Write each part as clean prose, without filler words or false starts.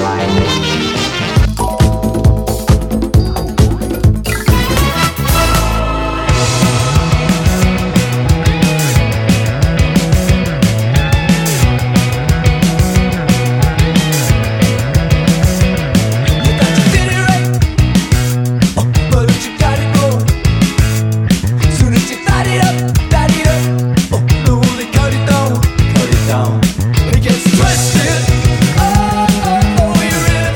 It gets twisted. Oh, you really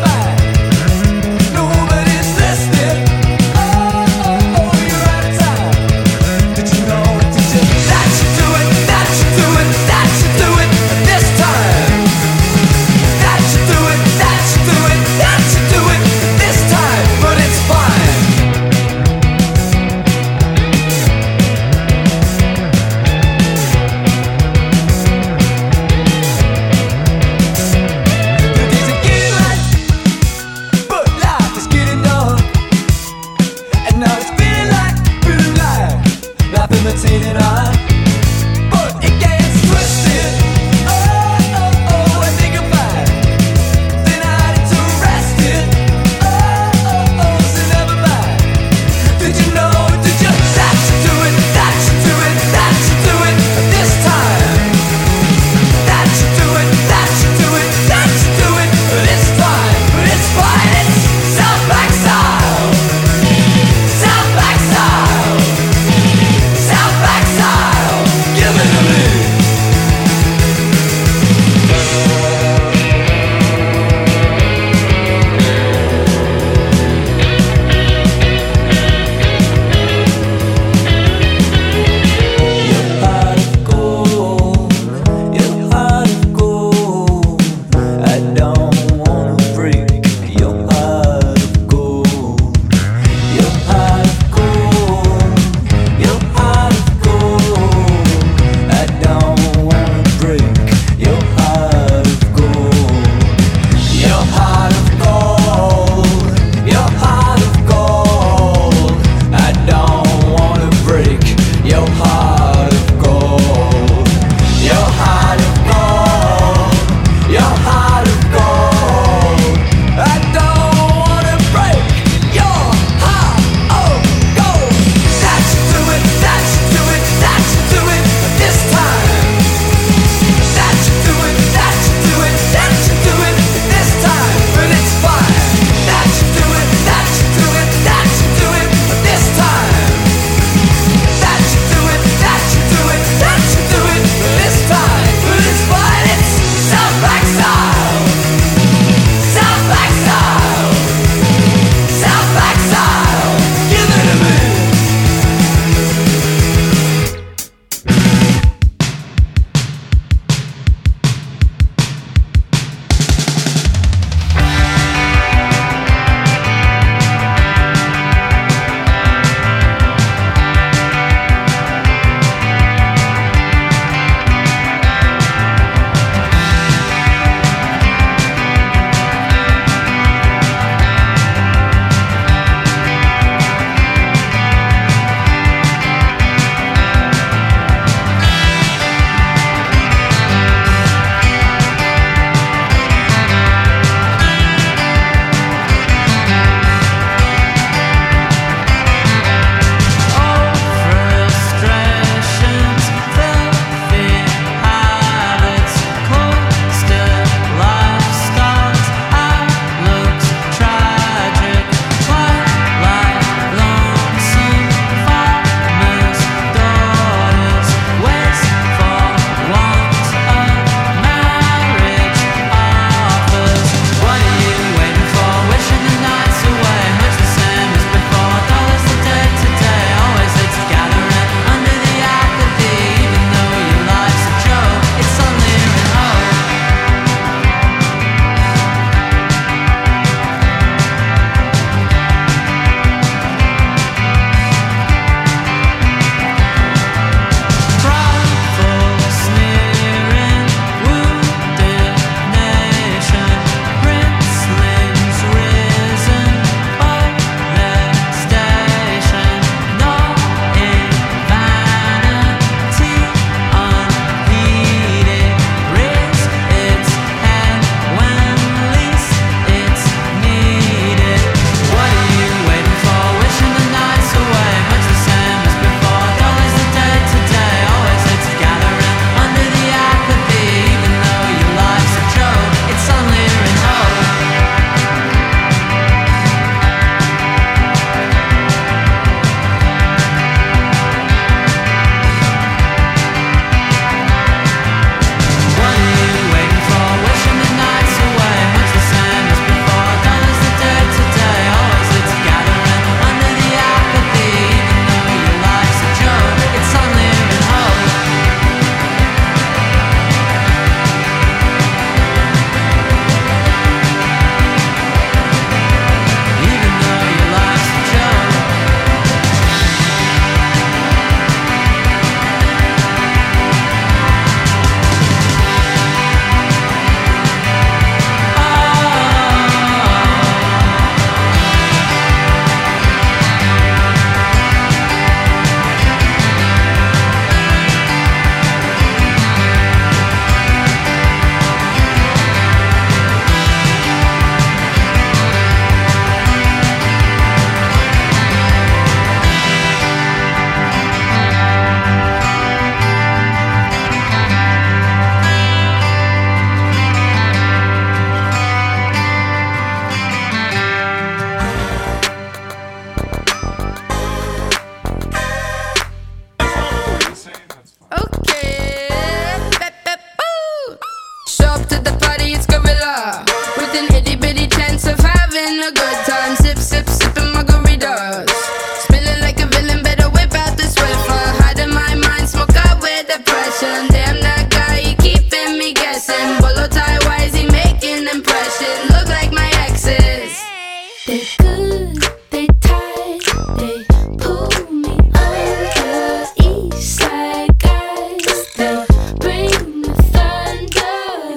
They good, they tight, they pull me under. East side guys, they bring the thunder.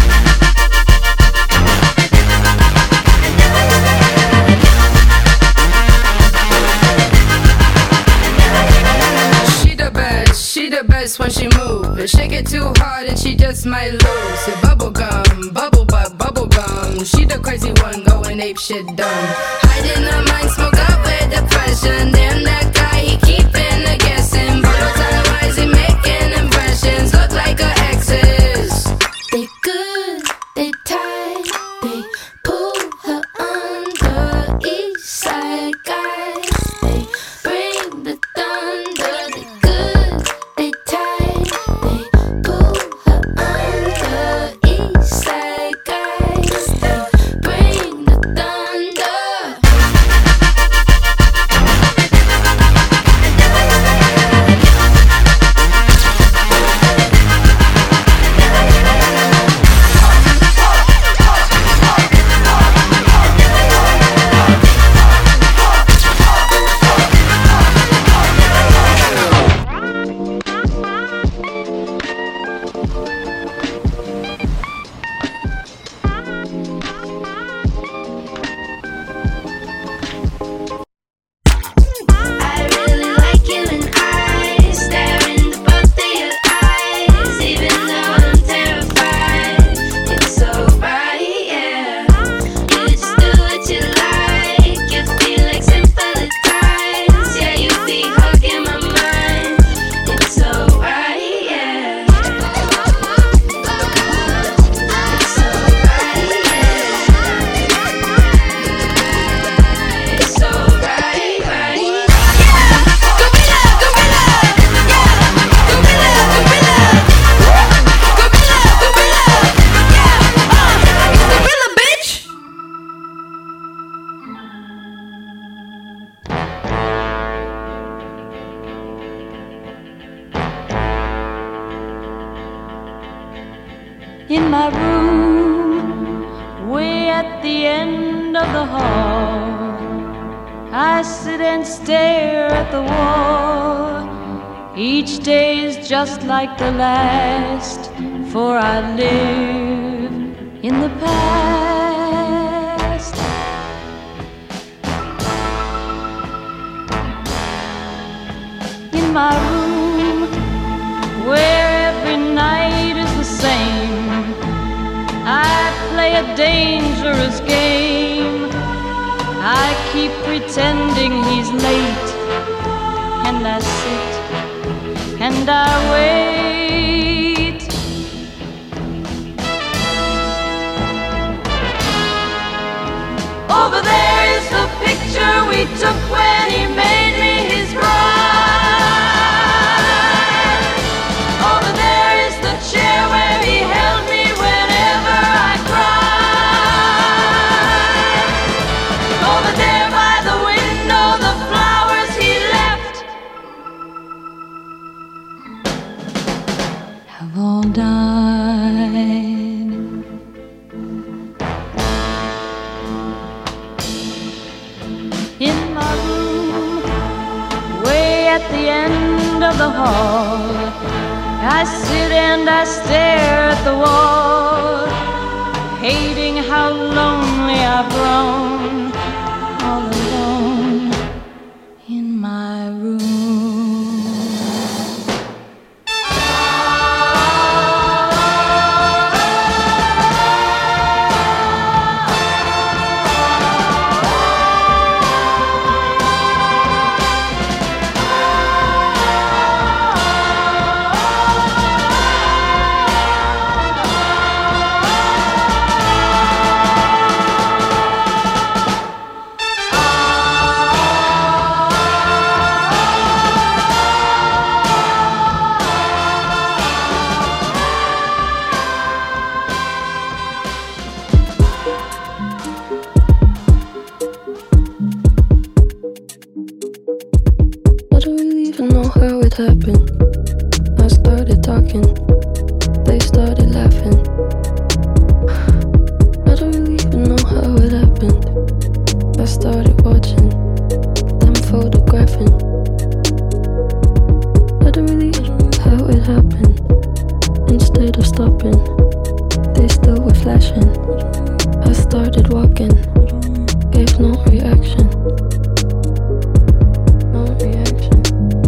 She the best when she move. If shake it too hard and she just might lose. It bubble gum, bubble butt, bubble gum. She the crazy one going ape shit dumb. Hiding her mind, smoke up with depression. Damn that guy, he keeping her guessing. Bottle time wise, he making impressions. Look like her exes. They good, they tight, they pull her under. East side guys, they bring the thunder. They good, they tight, they pull her under. East side guys, they bring the thunder. I really like you and I stare into both of your eyes, even though I'm terrified. It's so right, yeah. You just do what you like. You feel like sympathize. Yeah, you be hugging my mind. It's so right, yeah. It's so right, yeah. It's so right, right. In my room, way at the end of the hall, I sit and stare at the wall. Each day is just like the last, for I live in the past. In my room, where every night is the same, I play a dangerous game. I keep pretending he's late, and I sit and I wait. Over there is the picture we took when he made me his bride. Over there is the chair where he held me whenever I cried. Over there by the window, the flowers he left have all died. In my room, way at the end of the hall, I sit and I stare at the wall, hating how lonely I've grown, all alone in my room. started walking, gave no reaction. No reaction.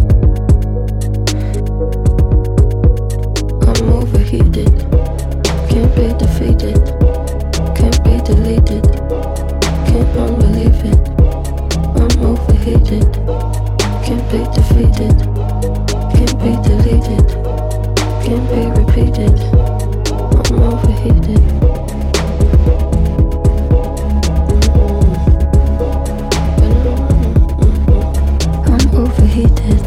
I'm overheated, can't be defeated, can't be deleted, can't unbelieve it. I'm overheated, can't be defeated, can't be deleted, can't be repeated. I'm overheated. I'm overheated.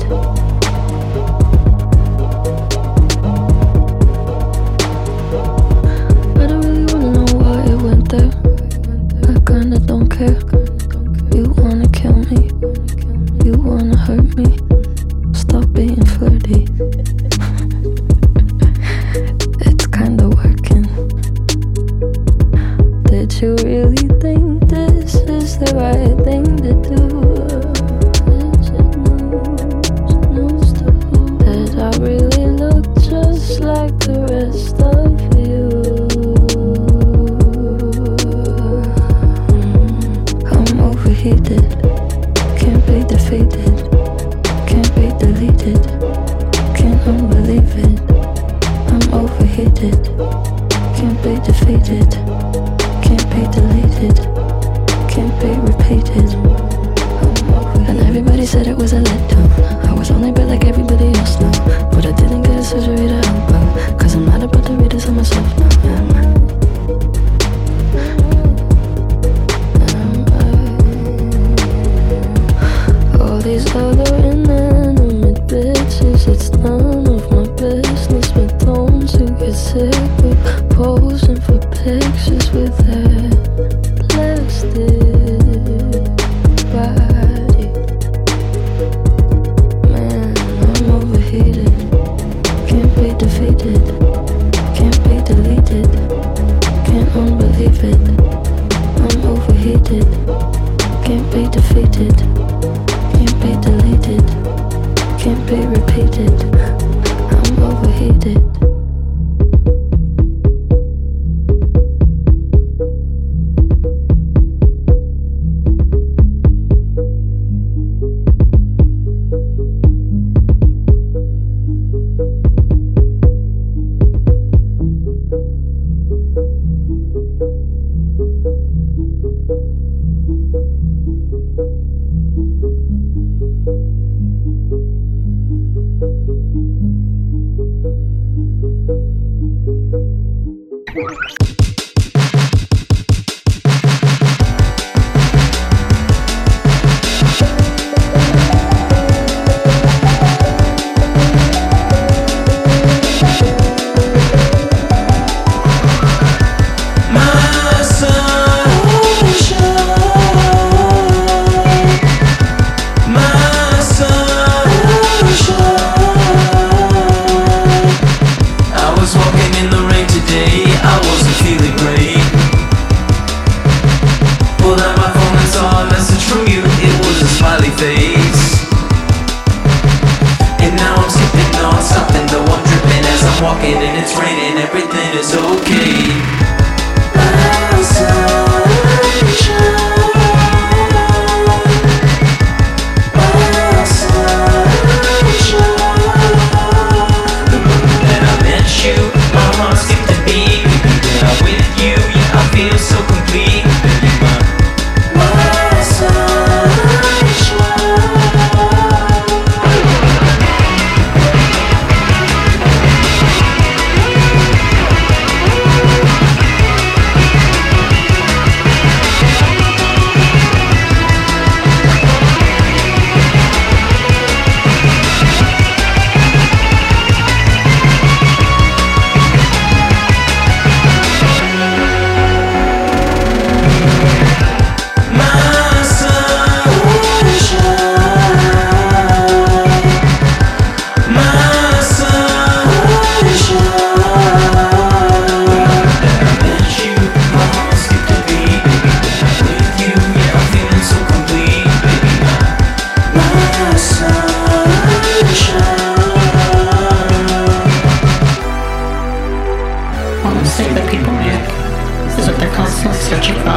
I don't really wanna know why it went there. I kinda don't care. You wanna kill me, you wanna hurt me. Stop being flirty. It's kinda working. Did you really think this is the right thing to do? Is it news to who? Did I really look just like the rest of you? I'm overheated, can't be defeated, can't be deleted, can't unbelieve it. I'm overheated, can't be defeated, can't be deleted, can't be repeated. And everybody said it was a letdown. I was only bad like everybody else now, but I didn't get a surgery to help out, 'cause I'm not about to read this on myself now. All these other inanimate bitches, it's none of my business, but don't you get sick of posing for pictures with that plastic body? Man, I'm overheated, can't be defeated, can't be deleted, can't unbelieve it. I'm overheated, can't be defeated, can't be deleted, can't be repeated. I'm overheated.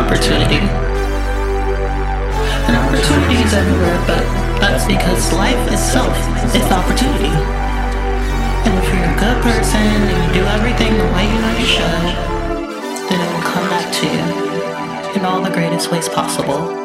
opportunity. And opportunity is everywhere, but that's because life itself is opportunity. And if you're a good person and you do everything the way you know you should, then it will come back to you in all the greatest ways possible.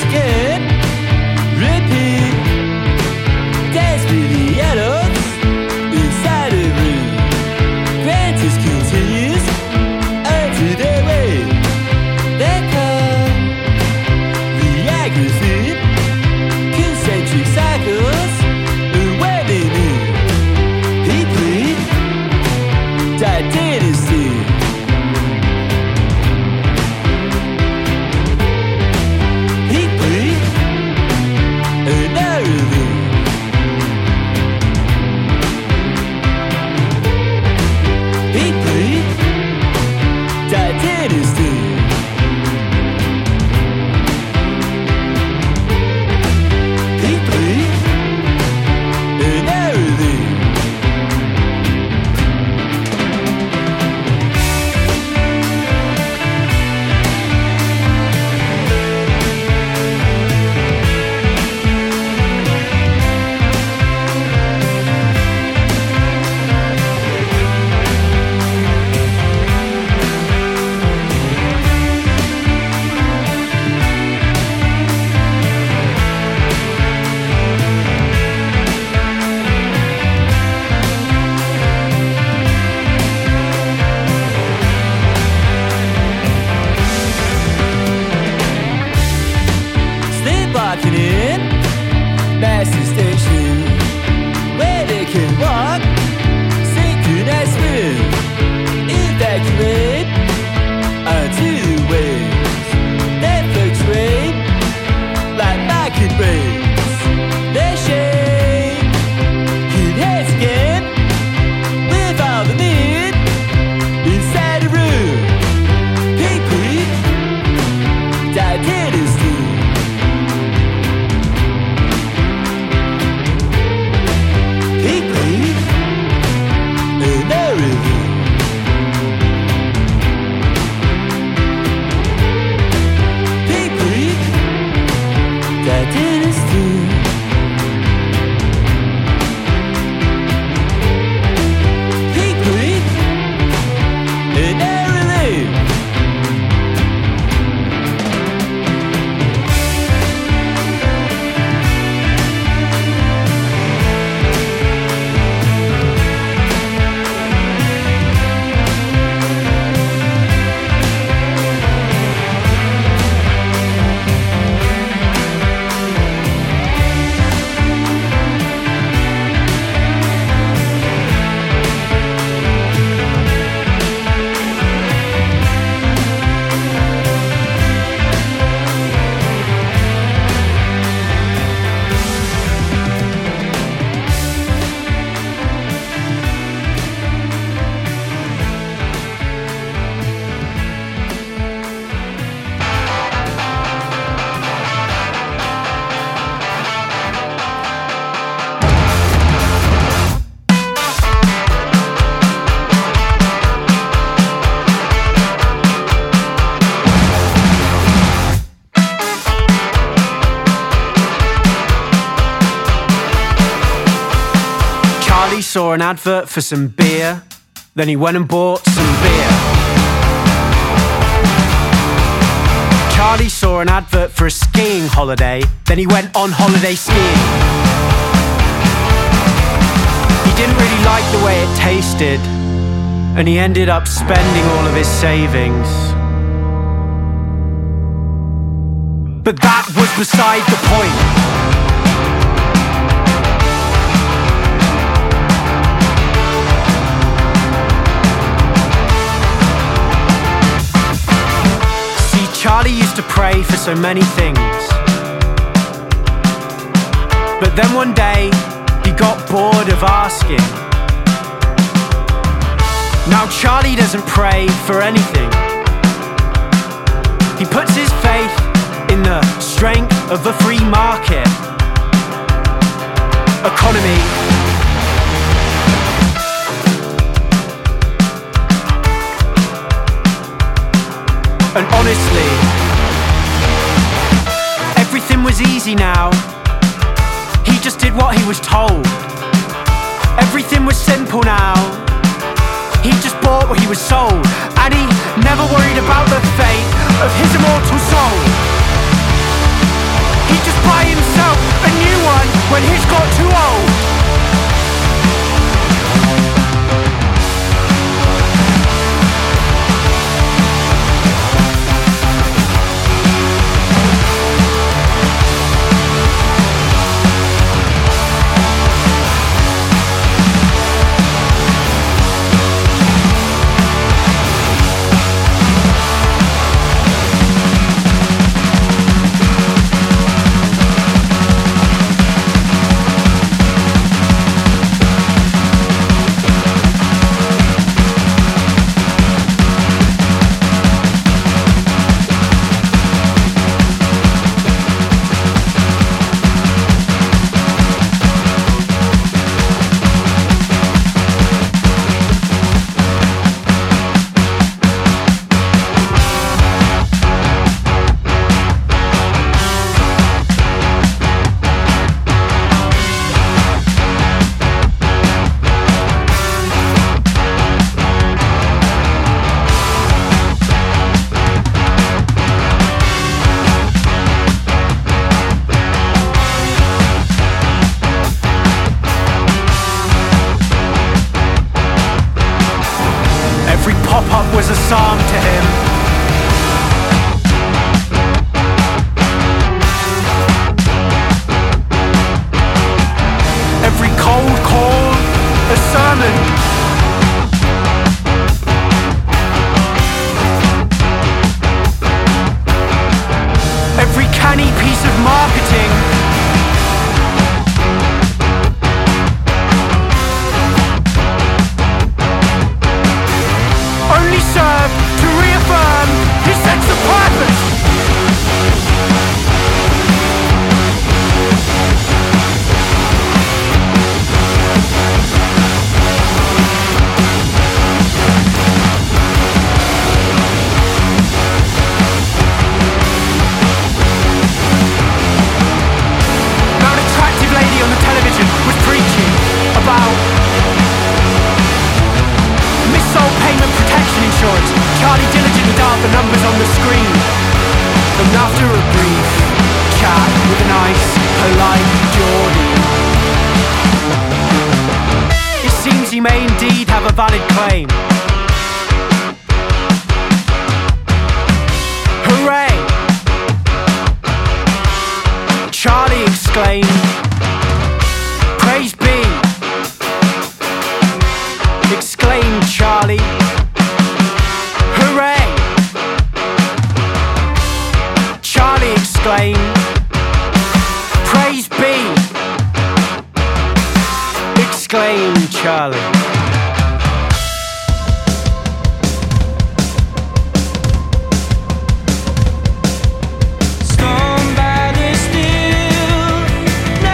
skip, repeat. Dance with the adults inside the room. Francis continues until they wait. They come, reaggravate, concentric cycles, and where they meet. He played that dynasty. He played another thing. He played that dynasty. He played another thing. Sleepwalking in Master Station, where they can walk, synchronized swim, evacuate onto the waves. They fluctuate like market rates. They shake, hit heads again with all the need inside the room. Pink Pete, that dynasty. He played another thing. He played that dynasty. He played another thing. Charlie saw an advert for some beer, then he went and bought some beer. Charlie saw an advert for a skiing holiday, then he went on holiday skiing. He didn't really like the way it tasted, and he ended up spending all of his savings. But that was beside the point. Charlie used to pray for so many things, but then one day he got bored of asking. Now Charlie doesn't pray for anything. He puts his faith in the strength of the free market economy. And honestly, everything was easy now. He just did what he was told. Everything was simple now. He just bought what he was sold, and he never worried about the fate of his immortal soul. He'd just buy himself a new one when his got too old. Pop-up was a psalm to him. Every cold call, a sermon. Every canny piece of marketing. Only serve to reaffirm his sense of purpose. Now an attractive lady on the television was preaching about missile payment protection insurance. Charlie diligently dialed the numbers on the screen. And after a brief chat with a nice, polite Geordie, it seems he may indeed have a valid claim. Hooray! Charlie exclaimed. Praise be! Exclaimed Charlie. Hooray! Charlie exclaimed. Praise be! Exclaimed Charlie. Stormed by the still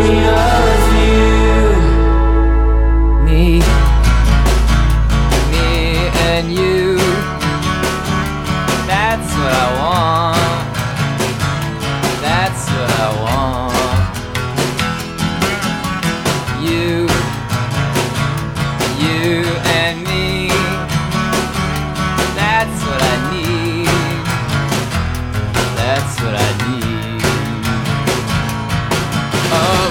me of you. Me and you. That's what I want. That's what I want. You and me. That's what I need. That's what I need. Oh,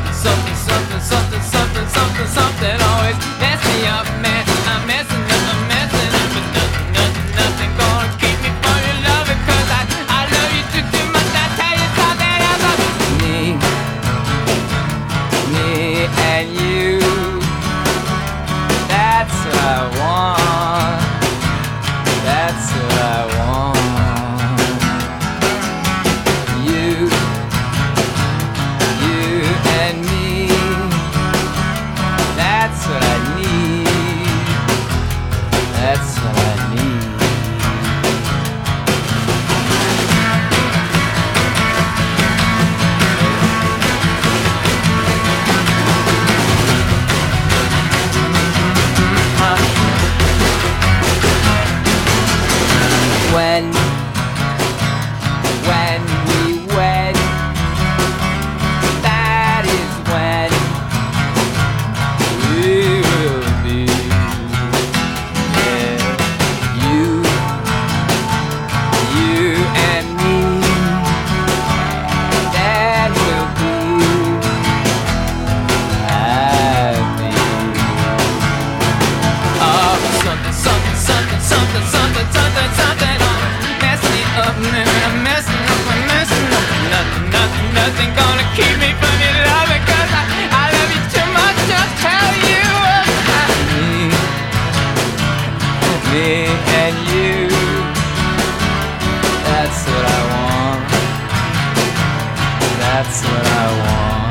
something always mess me up, man. I'm messing up, but nothing gonna keep me from your love, because I love you too much. I tell you something else. Me and you. That's what I want. That's what I want. You and me. That's what I need. That's what I need. When we wed, that is when we'll be. Yeah. You and me, that will be happy. Oh, something mess me up, man. I'm messing up. Nothing gonna keep me from your love, because I love you too much to tell you about me and you. That's what I want. That's what I want.